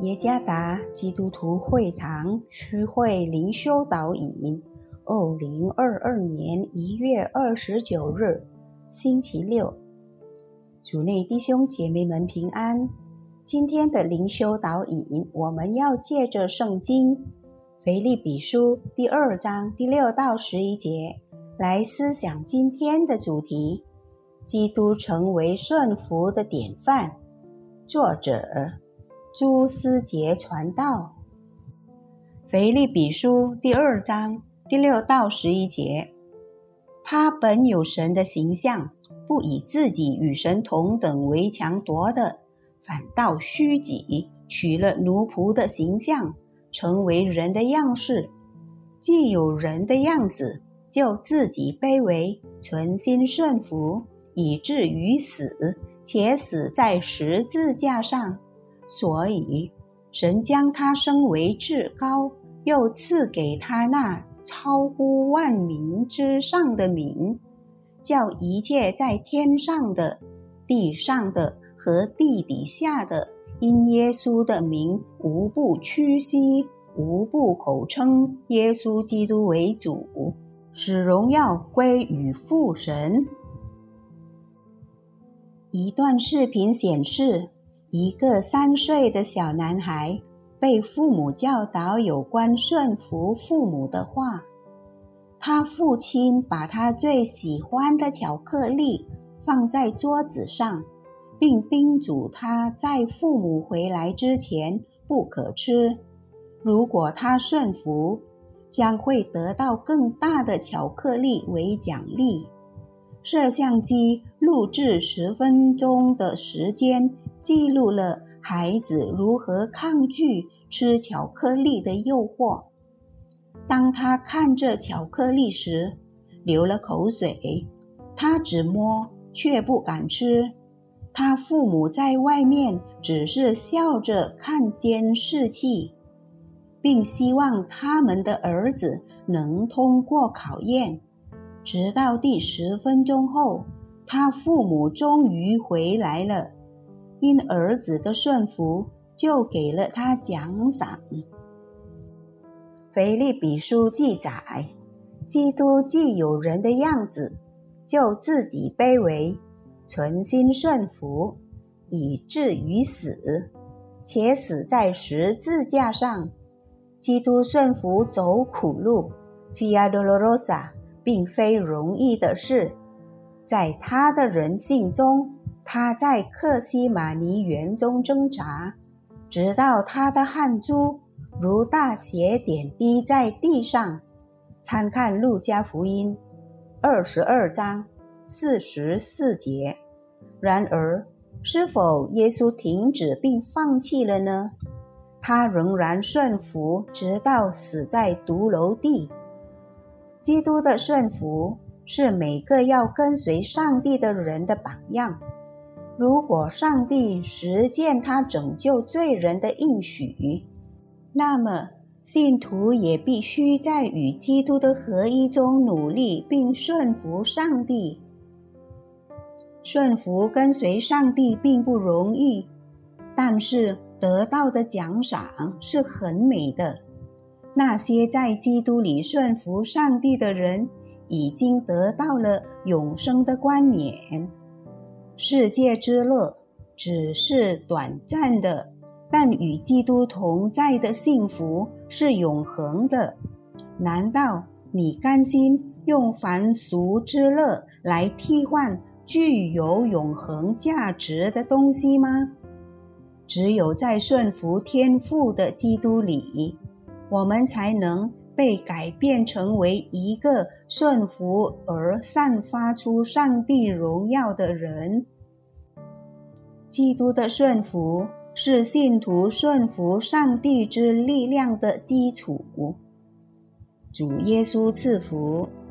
耶加达基督徒会堂区会灵修导引，2022年1月29日，星期六。主内弟兄姐妹们平安。今天的灵修导引，我们要借着圣经腓立比书第2章第6到11节来思想今天的主题：基督成为顺服的典范。作者朱思杰传道。腓立比书第2章第6到11节，他本有神的形象，不以自己与神同等为强夺的，反倒虚己，取了奴仆的形象，成为人的样式。既有人的样子，就自己卑微，存心顺服，以至于死，且死在十字架上。所以神将他升为至高，又赐给他那超乎万名之上的名，叫一切在天上的、地上的和地底下的，因耶稣的名无不屈膝，无不口称耶稣基督为主，使荣耀归于父神。一段视频显示，一个3岁的小男孩被父母教导有关顺服父母的话。他父亲把他最喜欢的巧克力放在桌子上，并叮嘱他在父母回来之前不可吃。如果他顺服，将会得到更大的巧克力为奖励。摄像机录制10分钟的时间，记录了孩子如何抗拒吃巧克力的诱惑。当他看着巧克力时，流了口水，他只摸却不敢吃。他父母在外面只是笑着看监视器，并希望他们的儿子能通过考验。直到第10分钟后，他父母终于回来了，因儿子的顺服，就给了他奖赏。腓立比书记载，基督既有人的样子，就自己卑微，存心顺服，以至于死，且死在十字架上。基督顺服走苦路 Via Dolorosa 并非容易的事。在他的人性中，他在客西马尼园中挣扎，直到他的汗珠如大血点滴在地上。参看路加福音22章44节。然而，是否耶稣停止并放弃了呢？他仍然顺服，直到死在独楼地。基督的顺服是每个要跟随上帝的人的榜样。如果上帝实践他拯救罪人的应许，那么信徒也必须在与基督的合一中努力并顺服上帝。顺服跟随上帝并不容易，但是得到的奖赏是很美的。那些在基督里顺服上帝的人，已经得到了永生的冠冕。世界之乐只是短暂的，但与基督同在的幸福是永恒的。难道你甘心用凡俗之乐来替换具有永恒价值的东西吗？只有在顺服天父的基督里，我们才能被改变成为一个顺服而散发出上帝荣耀的人。基督的顺服是信徒顺服上帝之力量的基础。主耶稣赐福。